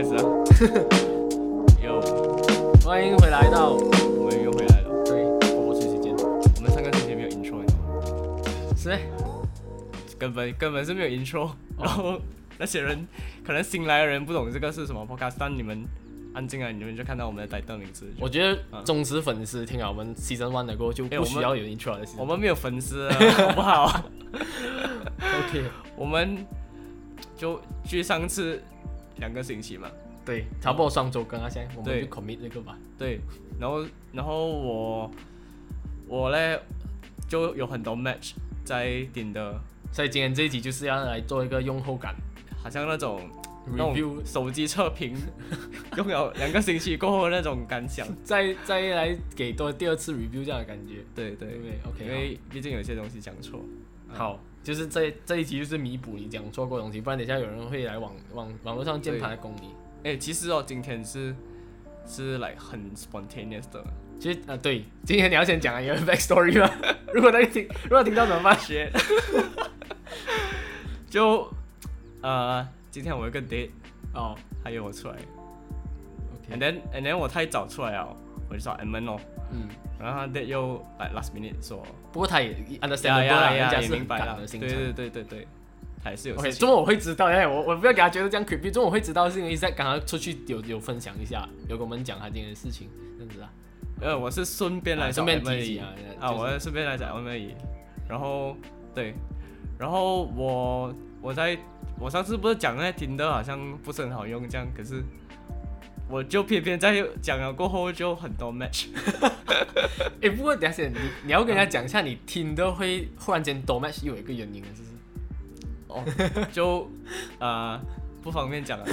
开始了。有， 欢迎回来到， 我们又回来了。 对，播出时间， 我们上个星期没有 intro， 你知道吗？ 是咩？ 根本是没有 intro，然后那些人可能新来的人不懂这个是什么 podcast， 但你们按进来，你们就看到我们的 title 名字。 我觉得忠实粉丝听了我们 season 1的过后就不需要有 intro 的。 我们没有粉丝，好不好 ？OK， 我们就距上次2个星期嘛。 对，差不多双周更啊，现在我们就 commit 这个吧。 对，然后我呢就有很多 match 在顶的， 所以今天这一集就是要来做一个用后感， 好像那种 review 手机测评，用了2个星期过后那种感想， 再来给多第二次 review 这样的感觉。 对 ，OK， 因为毕竟有些东西讲错。 好，就是这一集就是弥补你讲错过的东西，不然等一下有人会来网络上键盘来攻你。 其实今天是like 很 spontaneous 的。 其实对，今天你要先讲一个 backstory 吗？如果听到怎么办？ 就今天我有个 date 还有我出来 ，OK， and then 我太早出来了，我就找 Edmund 咯，然后他 date 又 like last minute 说， 不过他也 understand 啦，人家是很赶的行程， 对，他也是有。 OK， 中午我会知道，我不要给他觉得这样 creepy。中午我会知道是因为在刚刚出去有分享一下，有跟我们讲他今天的事情，这样子啊。 我是顺便来找 Edmund 而已我是顺便来找 Edmund 而已。然后对，然后我上次不是讲那 Tinder 好像不是很好用这样，可是我就偏偏在讲了过后就很多 match。 不过等一下你要跟人家讲一下，你 Tinder 会忽然间多 match 有一个原因的，就是就不方便讲了。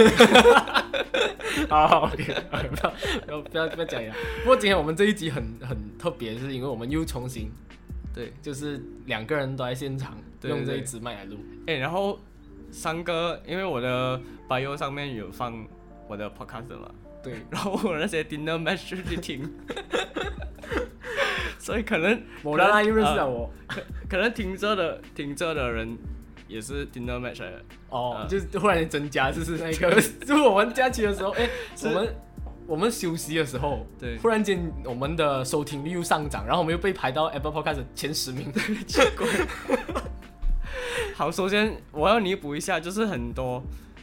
好 ，OK， 不要讲呀。不过今天我们这一集很特别，是因为我们又重新，对，就是2个人都在现场，用这一支麦来录。 然后3个，因为我的 bio 上面有放我的 podcast 嘛， 对， 然后我那些 dinner match 就去听，所以可能我让他又认识了我， 可能听着的人也是 dinner match 来的就是忽然间增加，就是那个，就是我们假期的时候，我们休息的时候， 对， 忽然间我们的收听率又上涨，然后我们又被排到 Apple Podcast 前10名， 奇怪。好，首先我要弥补一下，就是很多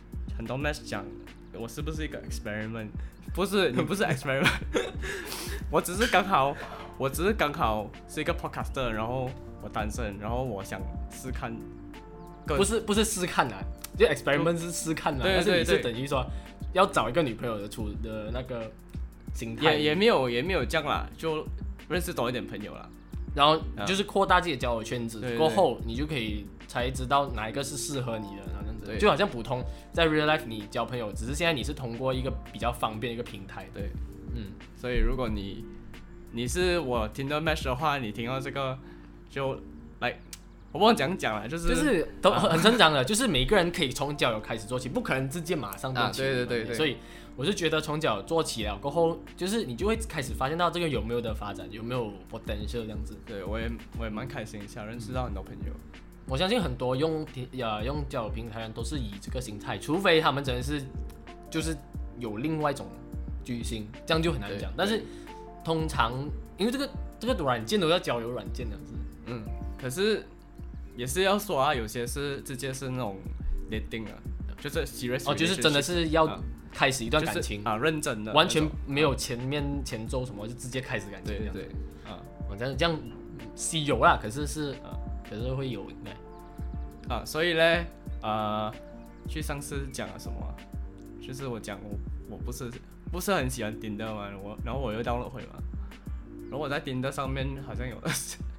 match 讲我是不是一个 experiment？ 不是，你不是 experiment， 我只是刚好是一个 podcaster， 然后我单身，然后我想试看。 不是试看啦，就 experiment 是试看啦，但是你是等于说要找一个女朋友的那个心态， 也没有这样啦，就认识多一点朋友啦， 然后就是扩大自己的交友圈子， 对过后你就可以才知道哪一个是适合你的，这样子，就好像普通在 real life 你交朋友，只是现在你是通过一个比较方便的一个平台， 对，所以如果你是我听到 match 的话，你听到这个就来。我不知道讲了，就是都很正常的，就是每个人可以从交友开始做起，不可能直接马上动起。 对， 所以我是觉得从交友做起了过后，就是你就会开始发现到这个有没有的发展，有没有 potential 这样子。 对，我也蛮开心，想认识到很多朋友。 我相信很多用交友平台人都是以这个心态，除非他们真的是就是有另外一种巨星，这样就很难讲。但是通常因为这个软件都要交友软件这样子， 可是。也是要说有些是直接是那种 dating 就是 serious， 就是真的是要开始一段感情认真的， 完全没有前奏什么，就直接开始感情这样。 对， 这样稀有啦，可是会有应该所以呢，去上次讲了什么？就是我讲我不是很喜欢 Tinder 嘛，然后我又 download 回嘛，然后我在 Tinder 上面好像有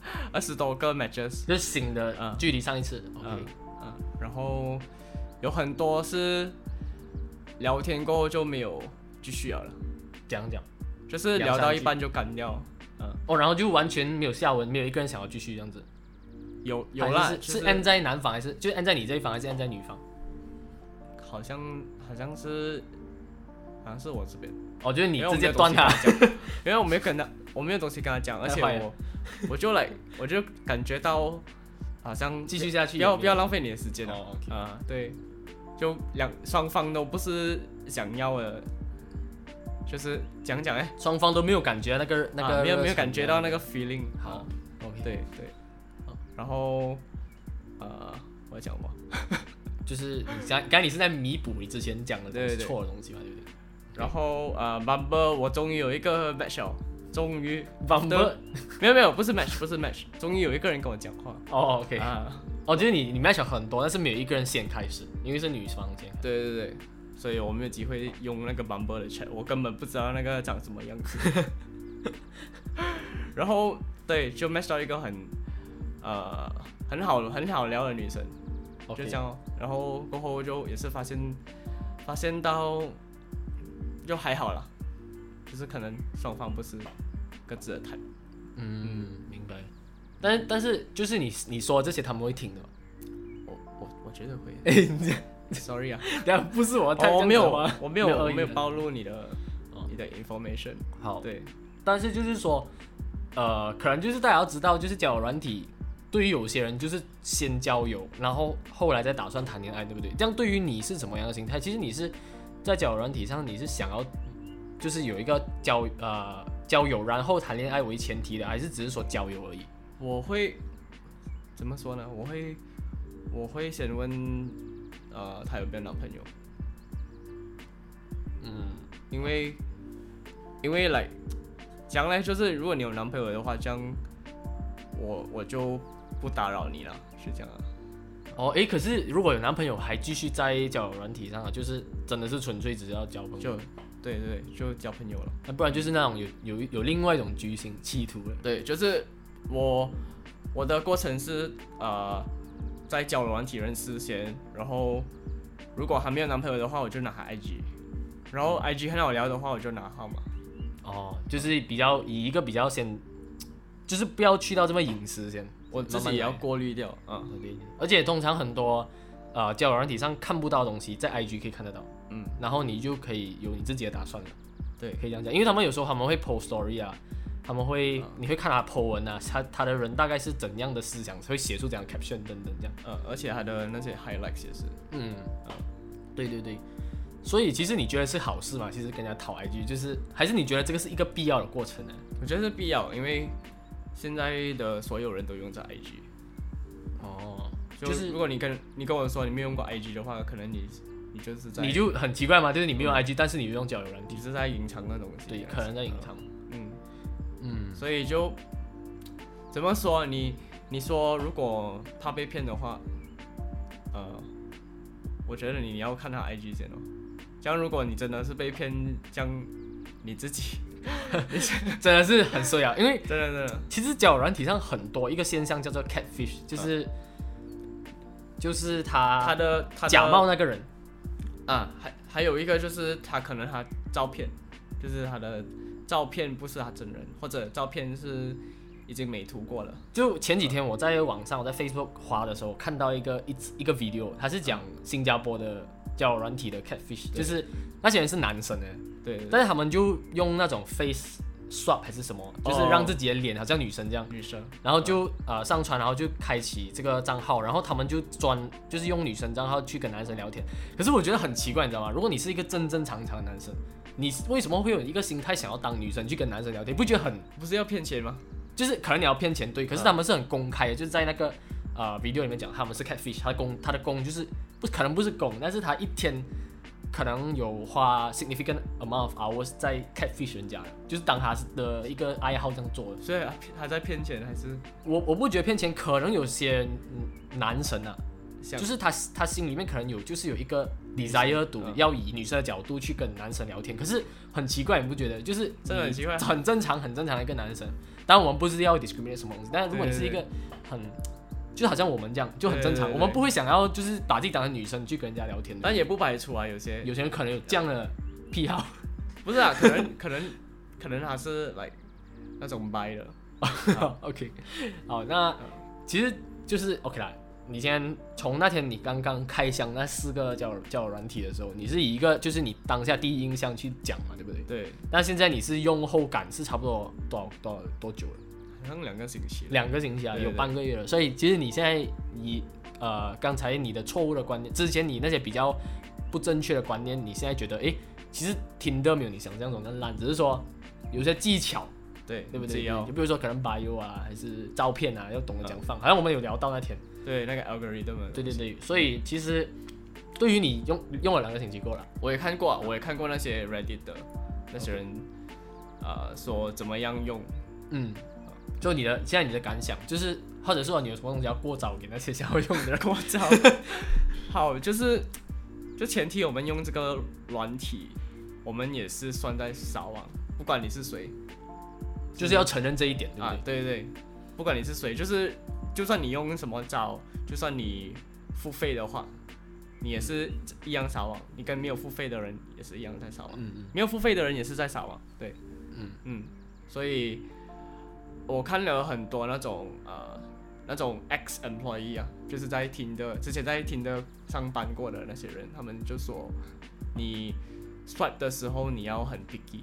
20多个 matches， 就是新的，距离上一次然后有很多是聊天过后就没有继续了， 讲就是聊到一半就干掉， 然后就完全没有下文，没有一个人想要继续这样子。 有啦， 是按在男方还是就按在你这一方还是按在女方？ 好像是我这边。 就是你直接断他， 因为我没有东西跟他讲，而且我就感觉到好像继续下去， 不要浪费你的时间 okay. 对， 就双方都不是想要的，就是讲双方都没有感觉那个没有感觉到那个 feeling。 好 ，OK， 对，然后我要讲什么？ 就是刚才你是在弥补你之前讲的错的东西嘛，对不对？ 然后Bumble 我终于有一个 match 了，终于 Bumble 没有不是 match， 终于有一个人跟我讲话。 哦 ，OK， 就是你 match 很多，但是没有一个人先开始，因为是女方先。 对，所以我没有机会用那个 Bumble 的 chat， 我根本不知道那个长什么样子。然后对，就 match 到一个很好聊的女生， 就这样哦。然后过后就也是发现到就还好啦，就是可能双方不是各自的谈。 明白。但是就是你说这些他们会听的吗？ 我觉得会。Sorry 啊， 不是我没有暴露你的information。 好， 对。 但是就是说，可能就是大家要知道，就是交友软体对于有些人就是先交友，然后后来再打算谈恋爱，对不对？这样对于你是什么样的心态？其实你是在交友软体上，你是想要就是有一个交友然后谈恋爱为前提的，还是只是说交友而已？ 我会怎么说呢？我会先问他有没有男朋友。因为来将来就是如果你有男朋友的话，这样我就不打扰你了，是这样啊。 可是如果有男朋友还继续在交友软体上，就是真的是纯粹只是要交朋友， 对，就交朋友了。 那不然就是那种有另外一种居心企图了。 对，就是我的过程是在交友软体认识先，然后如果还没有男朋友的话，我就拿他 IG， 然后 IG 很好聊的话，我就拿号码。 就是以一个比较先，就是不要去到这么隐私先， 我自己也要过滤掉而且通常很多交友软体上看不到的东西，在 IG 可以看得到。然后你就可以有你自己的打算了。 对， 可以这样讲，因为他们有时候他们会 post story 啊，他们会你会看他 po 文啊，他的人大概是怎样的思想，会写出这样 caption 等等这样。 而且他的那些 highlights 也是。 对。所以其实你觉得是好事吗？其实跟人家讨 IG， 就是还是你觉得这个是一个必要的过程呢？ 我觉得是必要，因为现在的所有人都用着 IG。就是如果你跟我说你没有用过 IG 的话，可能你就是在你就很奇怪嘛，就是你没有 IG，但是你用交友软体， 你是在隐藏那东西。 对，可能在隐藏。 所以就怎么说？你说如果怕被骗的话，我觉得你要看他 IG 先哦。这样如果你真的是被骗，这样你自己真的是很衰啊，因为真的， 其实交友软体上很多一个现象叫做 catfish， 就是他的假冒那个人还有一个就是他可能他照片，就是他的照片不是他真人，或者照片是已经美图过了。 就前几天我在网上，我在 Facebook 滑的时候看到一个 video， 他是讲新加坡的交友软体的 catfish， 就是那些人是男生对， 但是他们就用那种 face swap 还是什么，就是让自己的脸好像女生这样，然后就上传，然后就开启这个账号，然后他们就是用女生账号去跟男生聊天。可是我觉得很奇怪，你知道吗？如果你是一个正常的男生，你为什么会有一个心态想要当女生去跟男生聊天？不觉得不是要骗钱吗？ 就是可能你要骗钱，对，可是他们是很公开的，就是在那个video 里面讲他们是 catfish， 他的工就是可能不是工，但是他一天可能有花 significant amount of hours 在 catfish 人家，就是当他的一个爱好这样做的。 所以他在骗钱还是？ 我不觉得骗钱，可能有些男生就是他心里面可能就是有一个 desire 要以女生的角度去跟男生聊天，可是很奇怪，你不觉得？就是真的很奇怪， 很正常的一个男生。当然我们不是要 discriminate 什么东西，但是如果你是一个就好像我们这样就很正常，我们不会想要就是把自己当成女生去跟人家聊天的。 但也不排除有些人可能有这样的癖好， 不是可能他是 like 那种掰的。 OK， 好，那其实就是 OK 啦。你今天从那天你刚刚开箱那4个交友软体的时候，你是以一个就是你当下第一印象去讲嘛，对不对？ 对。 但现在你是用后感是差不多多久了？ 好像2个星期。 2个星期啊，有半个月了。所以其实你现在刚才你的错误的观念，之前你那些比较不正确的观念，你现在觉得其实Tinder没有你想象中的烂，只是说有些技巧。对不对？就比如说可能 bio 啊，还是照片啊，要懂得怎样放。好像我们有聊到那天。 对，那个 algorithm。 对，所以其实对于你用了2个星期够了。 我也看过那些 Reddit 的那些人，说怎么样用。 就现在你的感想，就是或者说你有什么东西要过招给那些想要用的人过招。好，就前提我们用这个软体，我们也是算在撒网，不管你是谁。 就是要承认这一点，对不对？对，不管你是谁，就算你用什么招，就算你付费的话，你也是一样撒网。你跟没有付费的人也是一样在撒网，没有付费的人也是在撒网，对，所以我看了很多那种ex employee 啊，就是之前在Tinder上班过的那些人，他们就说你 swipe 的时候你要很 picky。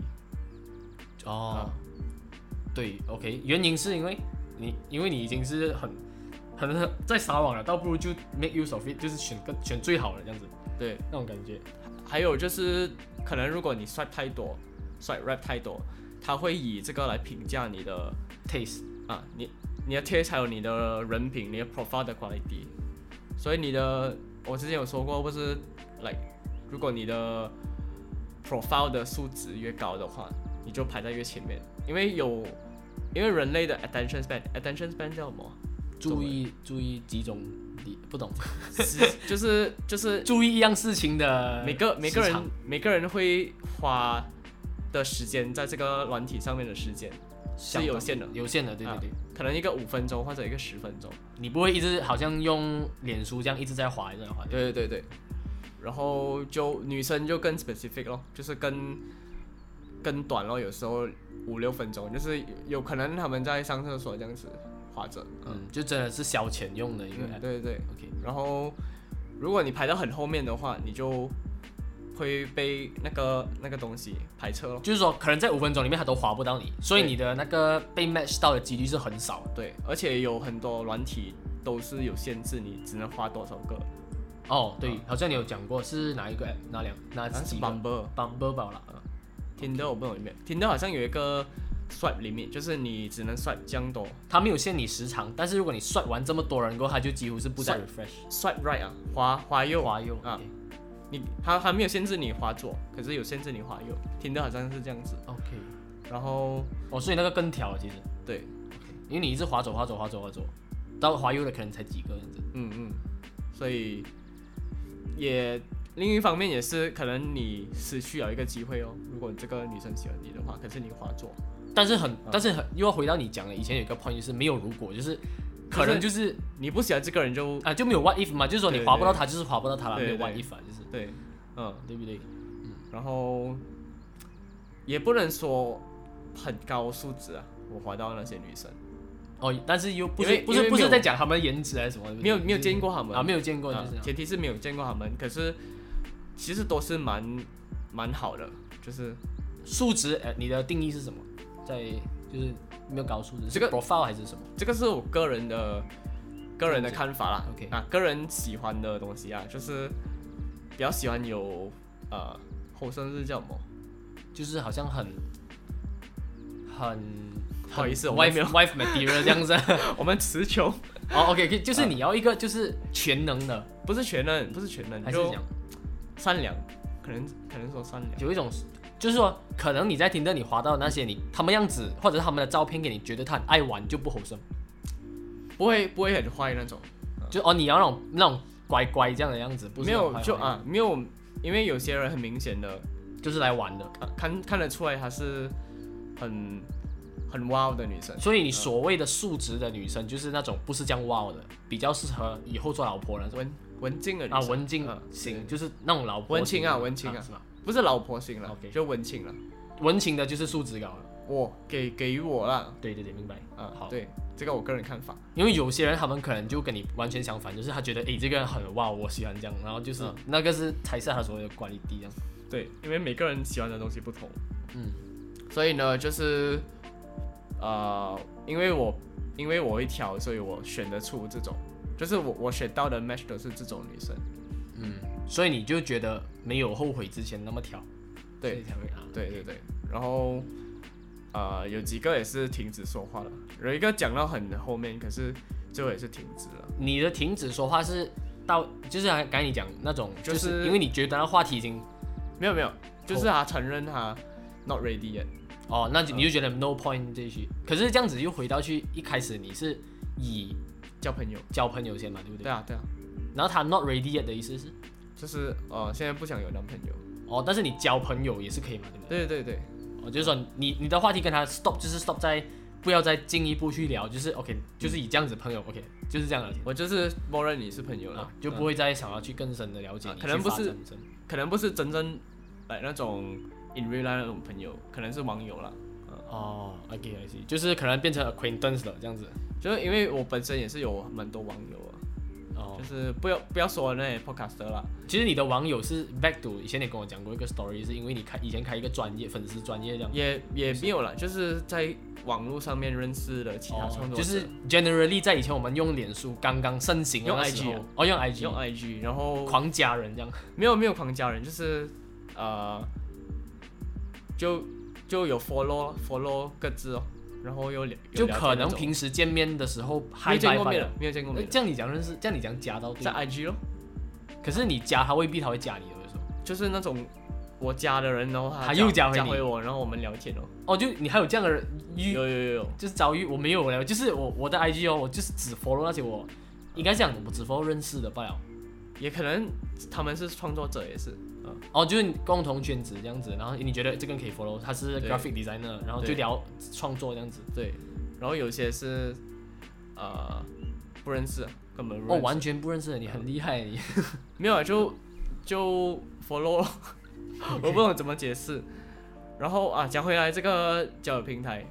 对 ，OK， 原因是因为你已经是很在撒网了，倒不如就 make use of it， 就是选最好的这样子，对，那种感觉。 还有就是可能如果你 swipe 太多 ，swipe rap 太多，他会以这个来评价你的 taste 你的 taste 还有你的人品，你的 profile 的 quality。所以我之前有说过，不是 like 如果你的 profile 的数值越高的话，你就排在越前面，因为人类的 attention span 叫什么？ 注意集中力，不懂， 就是注意一样事情的每个人会花的时间在这个软体上面的时间是有限的， 对， 可能一个5分钟或者一个10分钟， 你不会一直好像用脸书这样一直在滑， 对，然后就女生就更 specific 咯，就是更短咯，有时候5-6分钟，就是有可能他们在上厕所这样子滑着， 就真的是消遣用的一个， 对，OK。然后如果你排到很后面的话，你就会被那个东西排斥咯， 就是说可能在5分钟里面它都滑不到你，所以你的那个被 match 到的几率是很少的。 对，而且有很多软体都是有限制，你只能滑多少个。 对，好像你有讲过是哪一个 app， 哪几个 ？Bumble 吧啦。 Tinder 我不懂里面 ，Tinder 好像有一个 swipe limit， 就是你只能 swipe 这样多。 它没有限你时长，但是如果你 swipe 完这么多人过后，它就几乎是不再 refresh。swipe right 滑右啊， 它没有限制你滑左，可是有限制你滑右。Tinder 好像是这样子。 OK。 然后所以那个更挑了，其实。 对。 因为你一直滑左，到滑右的可能才几个这样子。 所以也。另一方面也是可能你失去了一个机会哦。如果这个女生喜欢你的话，可是你滑左， 但是又要回到你讲的以前有一个 point， 就是没有如果，就是可能就是你不喜欢这个人就没有 what if 嘛，就是说你滑不到他就是滑不到他了，没有 what if 就是对， 对不对？ 然后也不能说很高素质啊，我滑到那些女生。 但是又不是在讲他们颜值还是什么， 没有见过他们没有见过，就是前提是没有见过他们，可是其实都是蛮好的，就是素质。你的定义是什么？就是没有高素质，这个 profile 还是什么？ 这个是我个人的看法啦。 OK， 个人喜欢的东西啊，就是比较喜欢有后生是叫什么？ 就是好像很不好意思，我们没有 wife material 这样子。 我们词穷。 OK， 就是你要一个就是全能的， 不是全能， 还是讲善良，可能说善良， 有一种就是说，可能你在Tinder你滑到那些他们样子，或者是他们的照片给你觉得他很爱玩，就不好生， 不会很坏那种， 就你要那种乖乖这样的样子，不是没有就没有，因为有些人很明显的就是来玩的， 看得出来他是很 wow 的女生， 所以你所谓的素质的女生，就是那种不是这样 wow 的，比较适合以后做老婆那种文静的女生文静型，就是那种老婆文青啊，是吧？不是老婆型了，就文青了。 文青的就是素质高了。 我给予我啦。 对，明白。好， 对，这个我个人看法。 因为有些人他们可能就跟你完全相反，就是他觉得这个人很 wow， 我喜欢这样，然后就是那个是才是他所谓的quality这样。 对，因为每个人喜欢的东西不同。所以呢，就是因为我会挑，所以我选得出这种，就是我选到的 match 都是这种女生。 所以你就觉得没有后悔之前那么挑， 对，对，然后有几个也是停止说话了，有一个讲到很后面，可是最后也是停止了。 你的停止说话是到就是刚才你讲那种，就是因为你觉得那话题已经没有，就是他承认他 not ready yet。 那你就觉得 no point 继续。可是这样子又回到去一开始你是以交朋友先嘛，对不对？ 对啊。 然后他 not ready yet 的意思是？ 就是现在不想有男朋友。 但是你交朋友也是可以嘛，对不对？ 对。 就是说你的话题跟他 stop， 就是 stop 在不要再进一步去聊，就是 OK， 就是以这样子朋友 OK， 就是这样聊天。 我就是默认你是朋友了， 就不会再想要去更深的了解你。 可能不是真正那种 in real life 那种朋友，可能是網友啦。 OK， 就是可能变成 acquaintance 了这样子。 就是因为我本身也是有蛮多网友就是不要说那些 podcaster 啦。 其实你的网友是 back to 以前你跟我讲过一个 story， 是因为你以前开一个粉丝专业这样。 也没有啦，就是在网络上面认识的其他创作者。 就是 generally 在以前我们用脸书刚刚盛行的那时候，用 IG， 然后狂加人这样。 没有狂加人，就是就有 follow 各自然后有就可能平时见面的时候没有见过面。 这样你讲认识，这样你讲加到在 IG 咯。 可是你加他未必他会加你的，有时候就是那种我加的人，然后他又加回我，然后我们聊天就你还有这样的人有， 就是遭遇我没有聊，就是我的 IG 我就是只 follow 那些我应该讲我只 follow 认识的罢了， 也可能他们是创作者也是。 就是共同圈子这样子，然后你觉得这个人可以 follow， 他是 graphic designer， 然后就聊创作这样子。 对，然后有些是不认识，根本不认识。 完全不认识的，你很厉害你。 没有就 follow 我不懂怎么解释。然后讲回来这个交友平台，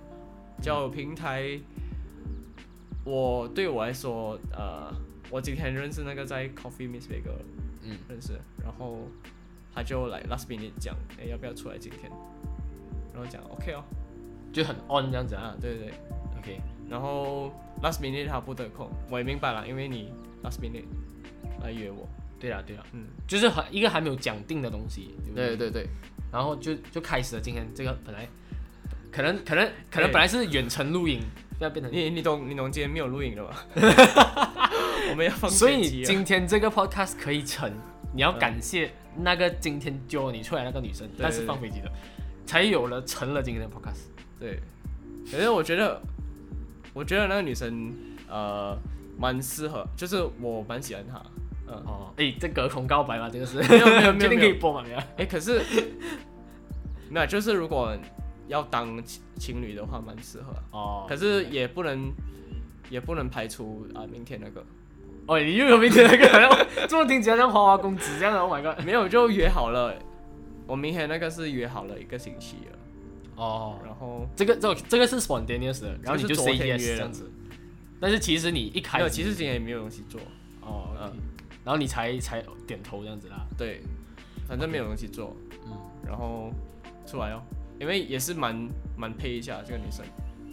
对我来说，我今天认识那个在 Coffee Miss Bagel 认识，然后他就来 last minute 讲，要不要出来今天？然后讲 OK 就很 on 这样子对 OK。然后 last minute 他不得空，我也明白了，因为你 last minute 来约我。 对啦，就是一个还没有讲定的东西，对不对？ 对。 然后就开始了今天这个本来可能本来是远程录影，要变成你懂今天没有录影了吗？我们要放所以今天这个 podcast 可以成，你要感谢那个今天揪你出来那个女生，但是放飞机的，才成了今天的 podcast。 对，可是我觉得那个女生蛮适合，就是我蛮喜欢她。 这隔空告白嘛，这个是没有确定可以播吗？ 可是没有，就是如果要当情侣的话，蛮适合。可是也不能排除明天那个。 你又有明天那个，这么听起来像花花公子这样的 ，Oh my god！ 没有，就约好了，我明天那个是约好了1个星期了。然后这个是 spontaneous 的，然后你就 say yes 这样子。但是其实你一开始其实今天也没有东西做。 然后你才点头这样子啦。 对，反正没有东西做。然后出来因为也是蛮配一下这个女生。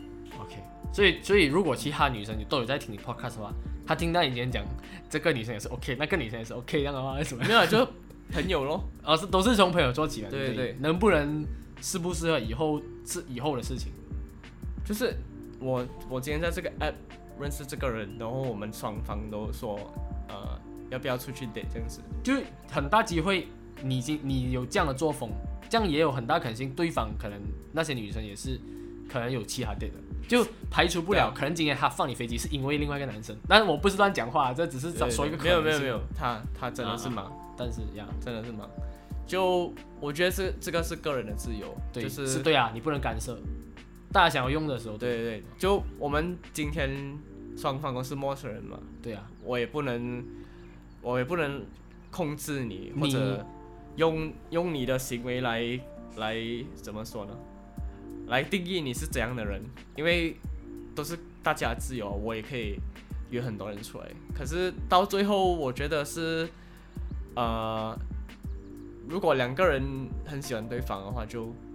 OK， 所以如果其他女生都有在听你 podcast 的话，她听到你今天讲这个女生也是 OK， 那个女生也是 OK 这样的话，为什么？ 没有，就朋友咯。 都是从朋友做起来。 对， 能不能适不适合以后是以后的事情。 就是我今天在这个 app 认识这个人，然后我们双方都说要不要出去 date 这样子， 就很大机会你有这样的作风，这样也有很大可能性对方可能那些女生也是可能有其他 date 的，就排除不了可能今天他放你飞机是因为另外一个男生，但是我不是乱讲话，这只是说一个可能性。 没有，他真的是忙， 但是真的是忙。就我觉得这个是个人的自由， 对， 就是对你不能干涉，大家想要用的时候。 对，就我们今天双方都是陌生人嘛， 对我也不能控制你，或者用你的行为来怎么说呢？来定义你是怎样的人，因为都是大家自由，我也可以约很多人出来。可是到最后，我觉得是如果2个人很喜欢对方的话，就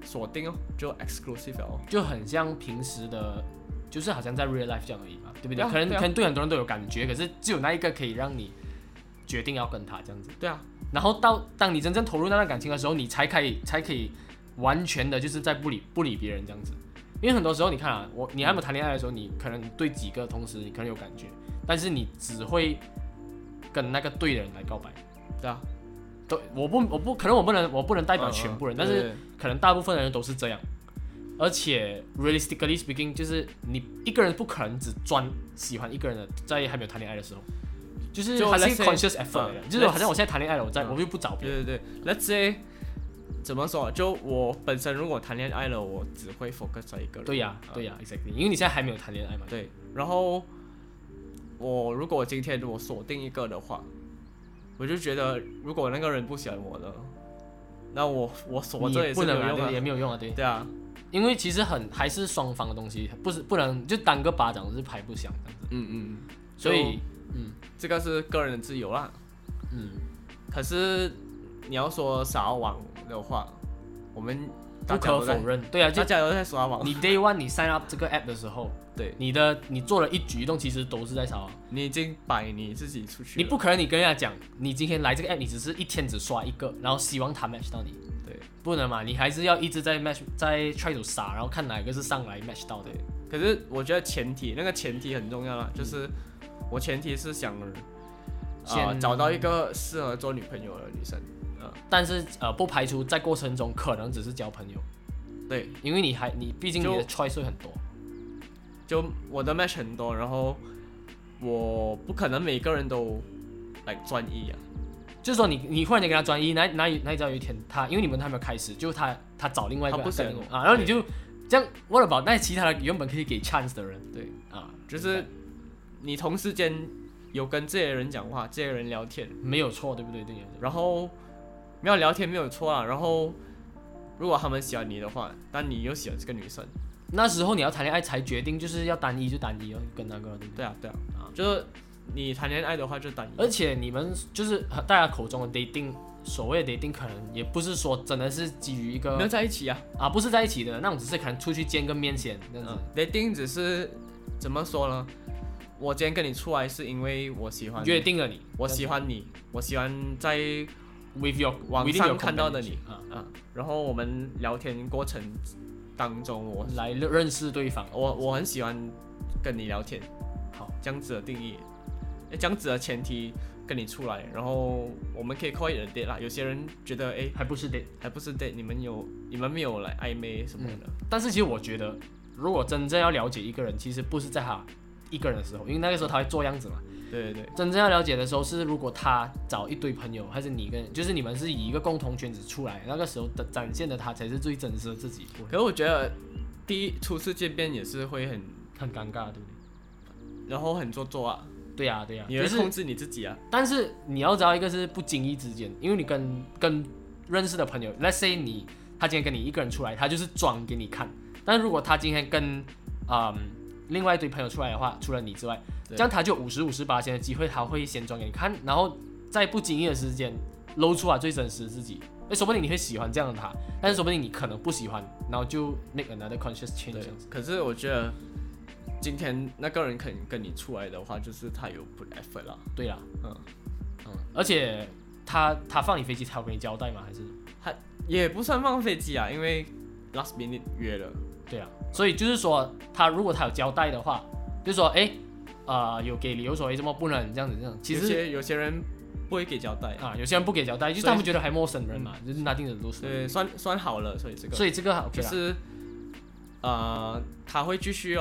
锁定哦，就 exclusive 哦， 就很像平时的，就是好像在 real life 这样而已嘛，对不对？ 对啊可能对啊可能对很多人都有感觉，可是只有那一个可以让你决定要跟他这样子。 对啊， 然后当你真正投入那段感情的时候，你才可以完全的就是在不理别人这样子。因为很多时候你看啊，你还没有谈恋爱的时候，你可能对几个同时你可能有感觉，但是你只会跟那个对的人来告白。 对啊， 对，可能我不能代表全部人，但是可能大部分的人都是这样。而且 realistically speaking， 就是你一个人不可能只专喜欢一个人的，在还没有谈恋爱的时候，就是还是 conscious effort 的，就是好像我现在谈恋爱了，我就不找别人。 对 ，Let's say 怎么说？就我本身如果谈恋爱了，我只会 focus 在一个人。 对呀，exactly， 因为你现在还没有谈恋爱嘛。 对，然后如果今天我锁定一个的话，我就觉得如果那个人不喜欢我的，那我锁着也是没有用啊， 也没有用啊， 对啊， 因为其实还是双方的东西，不能就单个巴掌是拍不响这样子。所以这个是个人的自由啦。可是你要说撒网的话，我们不可否认，对啊， 大家都在撒网。 你 Day One 你 sign up 这个 app 的时候， 对， 你做了一举一动，其实都是在撒网。 你已经摆你自己出去了， 你不可能你跟人家讲，你今天来这个 app， 你只是一天只刷一个，然后希望他 match 到你。 对， 不能嘛，你还是要一直在 match， 在 try to 撒，然后看哪一个是上来 match 到的。 可是我觉得那个前提很重要啦，就是我前提是想找到一个适合做女朋友的女生。 但是不排除在过程中可能只是交朋友。 对， 因为你毕竟你的 choice 会很多， 就我的 match 很多，然后我不可能每个人都来专一啊。 就是说你忽然间跟他专一，哪里知道有一天因为你们还没有开始，就他找另外一个人然后你就这样what about那其他的原本可以给 chance 的人， 对就是你同时间有跟这些人讲话，这些人聊天， 没有错，对不对？对。 然后没有聊天没有错啊，然后如果他们喜欢你的话，但你又喜欢这个女生， 那时候你要谈恋爱才决定，就是要单一就单一哦，跟那个对不对？ 对啊，就是你谈恋爱的话就单一， 而且你们就是大家口中的 dating， 所谓的 dating 可能也不是说真的是基于一个没有在一起啊， 不是在一起的那种，只是可能出去见个面先这样子。 dating 只是怎么说呢？我今天跟你出来是因为我喜欢你， 约定了你， 我喜欢你，我喜欢在 with your 网上看到的你然后我们聊天过程当中，我来认识对方， 我很喜欢跟你聊天。 好， 这样子的定义，这样子的前提跟你出来，然后我们可以 call it a date 啦。有些人觉得还不是 date， 你们没有来暧昧什么的。 但是其实我觉得，如果真正要了解一个人，其实不是在他一个人的时候，因为那个时候他会做样子嘛。 对。 真正要了解的时候是，如果他找一堆朋友，还是就是你们是以一个共同圈子出来，那个时候的展现的他才是最真实的自己。 可是我觉得初次见面也是会很尴尬，对不对？ 然后很做作啊。 对啊， 你会控制你自己啊。 但是你要知道一个是不经意之间，因为你跟认识的朋友 ，let's say 他今天跟你一个人出来，他就是装给你看。但如果他今天跟另外一堆朋友出来的话，除了你之外，这样他就50%的机会，他会先装给你看，然后在不经意的时间露出来最真实的自己。说不定你会喜欢这样的他，但是说不定你可能不喜欢，然后就 make another conscious change 这样子。 可是我觉得今天那个人肯跟你出来的话，就是他有 put effort 啦。 对啦，而且他放你飞机，他有跟你交代吗？还是他也不算放飞机啊，因为 last minute 约了。 对啊，所以就是说，如果他有交代的话，就是说，有给理由说，怎么不能这样子？其实有些人不会给交代啊，有些人不给交代，就是他们觉得还陌生人嘛，就是拿定的都是。 对，算好了，所以这个 OK 啦。 就是他会继续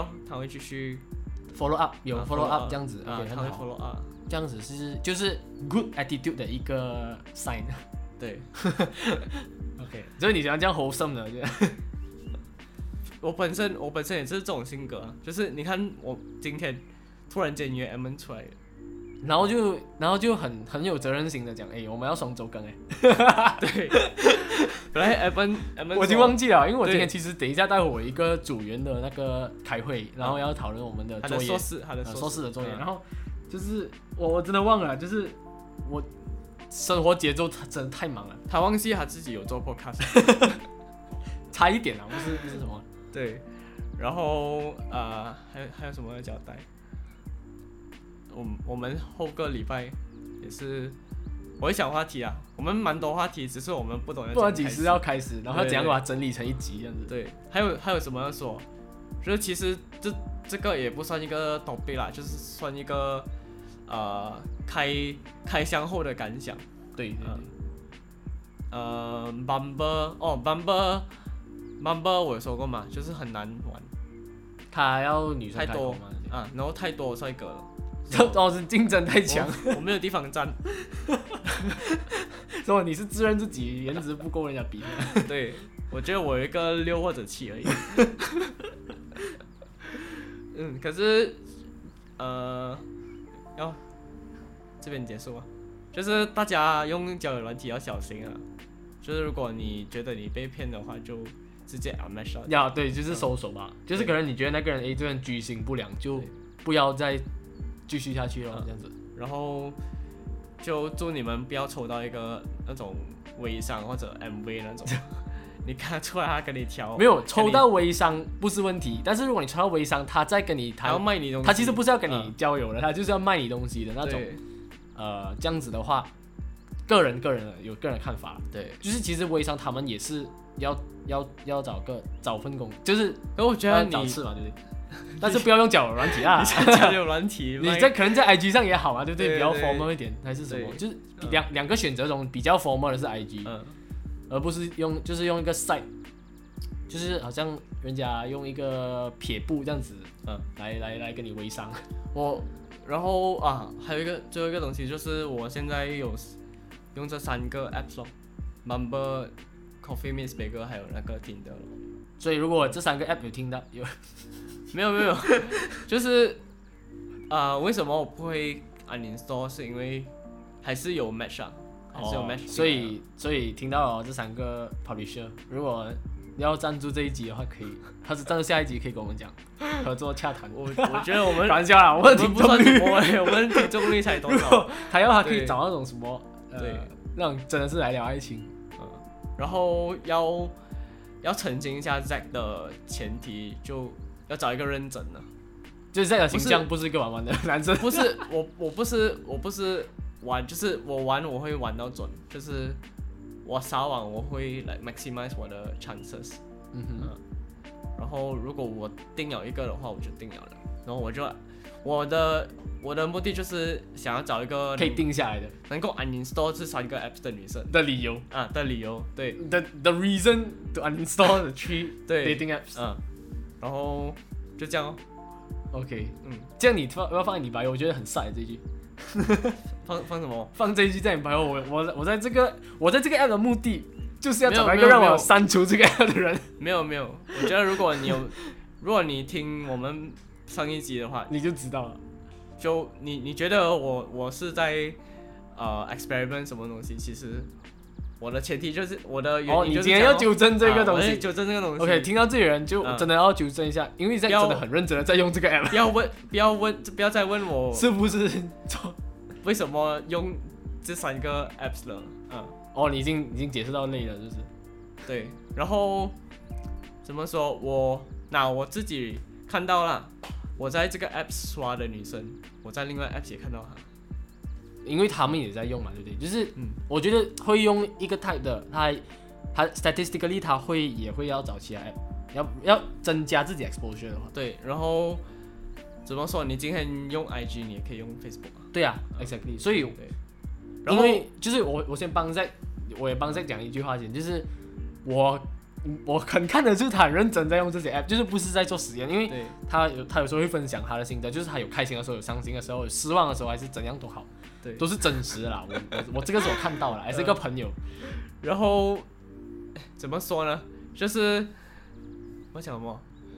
follow up， 有 follow up 这样子 ，OK， 他会 follow up， 这样子就是 good attitude 的一个 sign。 对 ，OK， 所以你喜欢这样 wholesome 的？ 我本身也是这种性格啊，就是你看我今天突然间约 M 出来， 然后就很有责任心的讲，我们要双周更对，本来 M 我已经忘记了，因为我今天其实等一下待会我一个组员的那个开会，然后要讨论我们的作业， 他的硕士的作业，然后就是我真的忘了，就是我生活节奏真的太忙了， 他忘记他自己有做 podcast。 差一点啊，不是什么。 对，然后还有什么要交代？我们后个礼拜也是，我会想话题啊，我们蛮多话题，只是我们不懂要不知道几时要开始，然后要怎样把它整理成一集这样子。 对，还有什么要说？就是其实这个也不算一个 topic 啦，就是算一个开箱后的感想。 对。 Bumble 我有说过嘛，就是很难玩， 他要女生太多嘛啊，然后太多帅哥了， 是竞争太强， 我没有地方站。 所以你是自认自己颜值不够人家比的？ 对，我觉得我有一个6或者7而已。可是要这边结束啊，就是大家用交友软体要小心啊，就是如果你觉得你被骗的话，就直接 unmatch 呀，对，就是收手吧，就是可能你觉得那个人这个人居心不良，就不要再继续下去了，这样子。 然后就祝你们不要抽到一个那种微商或者 MV 那种。你看出来他跟你挑， 没有抽到微商不是问题，但是如果你抽到微商，他在跟你谈， 他要卖你东西， 他其实不是要跟你交友的，他就是要卖你东西的那种。这样子的话，个人有个人看法。 对， 就是其实微商他们也是要找份工，就是我觉得找事嘛，对不对？但是不要用交友软体啊， 交友软体， 你可能在 IG 上也好啊，对不对？比较 formal 一点还是什么？就是两个选择中比较 formal 的是 IG。而不是用一个 site， 就是好像人家用一个撇步这样子，来跟你微商。 然后还有最后一个东西就是我现在有用这3个 apps 咯 ，Bumble、Coffee Meets Bagel 还有那个 Tinder 咯。 所以如果这3个 app 有听到没有，就是为什么我不会 uninstall？ 是因为还是有 match 啊。 所以听到了这3个 publisher， 如果要赞助这一集的话，可以，他是赞助下一集可以跟我们讲合作洽谈。 我觉得我们开玩笑啦，我们听众率， 我们听众率才多少？ 他可以找那种什么对， 那种真的是来聊爱情。 然后要澄清一下 Zack 的前提，就要找一个认真的， 就是 Zack 的形象不是一个玩玩的男生。 不是，我不是。玩就是我会玩到准，就是我撒网我会来 maximize 我的 chances。然后如果我定了一个的话，我就定了，然后我的目的就是想要找一个可以定下来的， 能够 uninstall 这3个 apps 的女生的理由对 the reason to uninstall the 3 dating apps。 然后就这样哦。 OK， 这样你要放在你bio，我觉得很帅这一句。 放什么？ 放这一句在你bio。我在这个 app 的目的就是要找一个让我删除这个 app 的人。 没有，我觉得如果你听我们上一集的话， 你就知道了。 就你觉得我是在experiment 什么东西？其实我的前提就是我的原因就是你今天要纠正这个东西， 纠正这个东西。 OK， 听到这里人就真的要纠正一下，因为在真的很认真的在用这个 app。 不要再问我是不是为什么用这3个 apps 了。 你已经解释到累了，就是对。然后怎么说？我自己看到了，我在这个 apps 刷的女生，我在另外 apps 也看到她。 因为他们也在用嘛，对不对？就是我觉得会用一个 type 的，他 statistically 他也会要找其他 app， 要增加自己 exposure 的话。 对，然后怎么说？你今天用 IG， 你也可以用 Facebook 啊。 对啊 ，exactly。所以，因为就是我先帮Zack，我也帮Zack讲一句话先，就是我很看得出他很认真在用这些 app， 就是不是在做实验，因为他有时候会分享他的心得，就是他有开心的时候，有伤心的时候，有失望的时候，还是怎样都好。对，都是真实的啦。我这个是我看到了，还是一个朋友。 然后怎么说呢？就是我讲什么？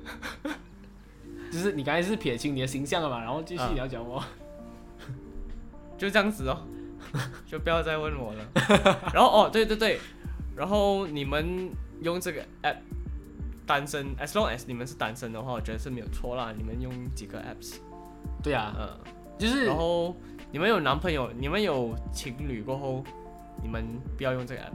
就是你刚才是撇清你的形象了嘛，然后继续你要讲什么？ 就这样子哦，就不要再问我了。然后对，然后你们用这个 app 单身 ，as long as 你们是单身的话，我觉得是没有错啦。你们用几个 apps？ 对啊，就是然后。你们有男朋友，你们有情侣过后，你们不要用这个 app，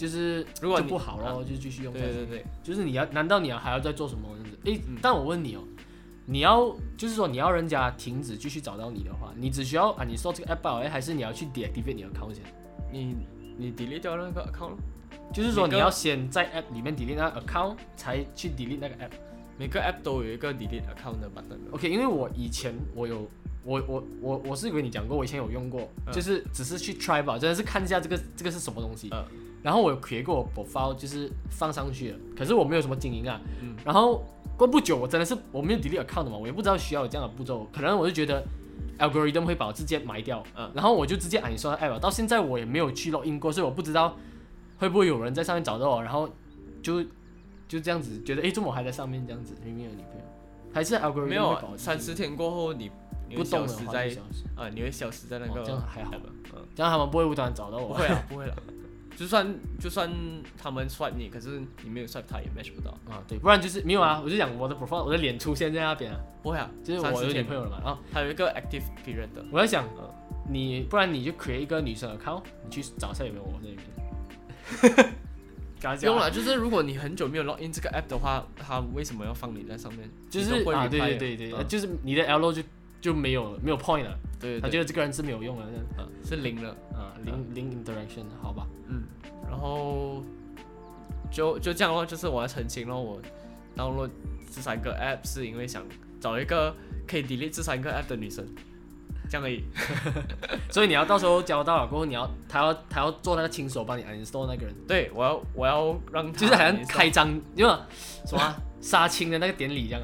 就是如果就不好咯，就继续用下去。 对， 就是难道你还要再做什么这样子？但我问你哦，就是说你要人家停止继续找到你的话，你只需要你说这个 app 还是你要去 deactivate 你的 account 先？ 你 delete 掉那个 account 咯， 就是说你要先在 app 里面 delete 那个 account， 才去 delete 那个 app。 每个 app 都有一个 delete account 的 button。OK， 因为我以前我是跟你讲过，我以前有用过，就是只是去 try 吧，真的是看一下这个是什么东西。然后我有 create 过我 profile， 就是放上去了，可是我没有什么经营啊。然后过不久，我没有 delete account 的嘛，我也不知道需要有这样的步骤，可能我就觉得 algorithm 会把我直接埋掉，然后我就直接uninstall app，到现在我也没有去 login 过，所以我不知道会不会有人在上面找到我，然后就这样子觉得，怎么我还在上面这样子，明明有女朋友，还是 algorithm 没有30天过后你不动了， 你会消失在那个， 这样还好吧？这样他们不会无端找到我？ 不会啦。就算他们 swipe 你，可是你没有 swipe 他也 match 不到啊。对，不然就是没有啊。我就讲我的 profile， 我的脸出现在那边啊。 不会啊， 就是我有女朋友了嘛。然后还有一个 active period 的。 我在想，不然你就 create 一个女生 account， 你去找一下有没有我那边。 不用了，就是如果你很久没有 login 这个 app 的话，它为什么要放你在上面？ 就是对，就是你的 L 就没有 point 了。对，他觉得这个人是没有用的， 是零了零 interaction， 好吧。 然后就这样咯，就是我要澄清咯，我 download 这3个 app 是因为想找一个可以 delete 这3个 app 的女生，这样而已。 所以你要到时候交到了过后，他要做那个亲手帮你 uninstall 那个人。 对，我要让他就是好像开张，因为什么杀青的那个典礼这样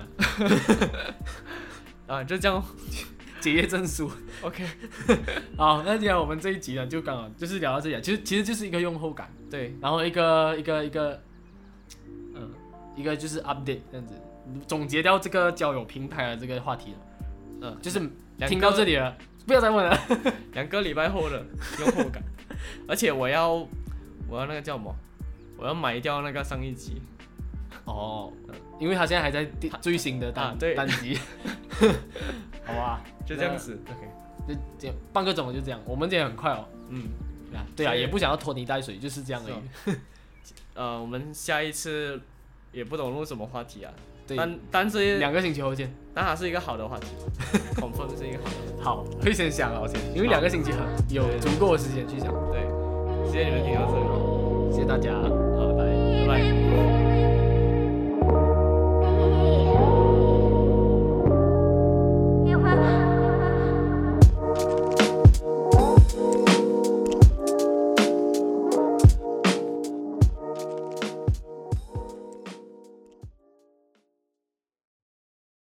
啊，就这样。 结业证书 ，OK， 好，那既然我们这一集呢，就刚好就是聊到这里，其实就是一个用后感， 对， 然后一个就是 update 这样子，总结掉这个交友平台的这个话题了，就是听到这里了，不要再问了 ，2个礼拜后的用后感，而且我要那个叫什么？我要买掉那个上一集， 因为他现在还在最新的单集。好吧， 就这样子 ，OK， 就这样，半个钟就这样，我们今天很快哦，对啊，也不想要拖泥带水，就是这样而已。 我们下一次也不懂录什么话题啊， 对， 但是 2个星期后见， 但它是一个好的话题，confirm 是一个好的。 好，会先想啊，因为2个星期有足够的时间去想。 对，谢谢你们听到这里， 谢谢大家， 拜拜。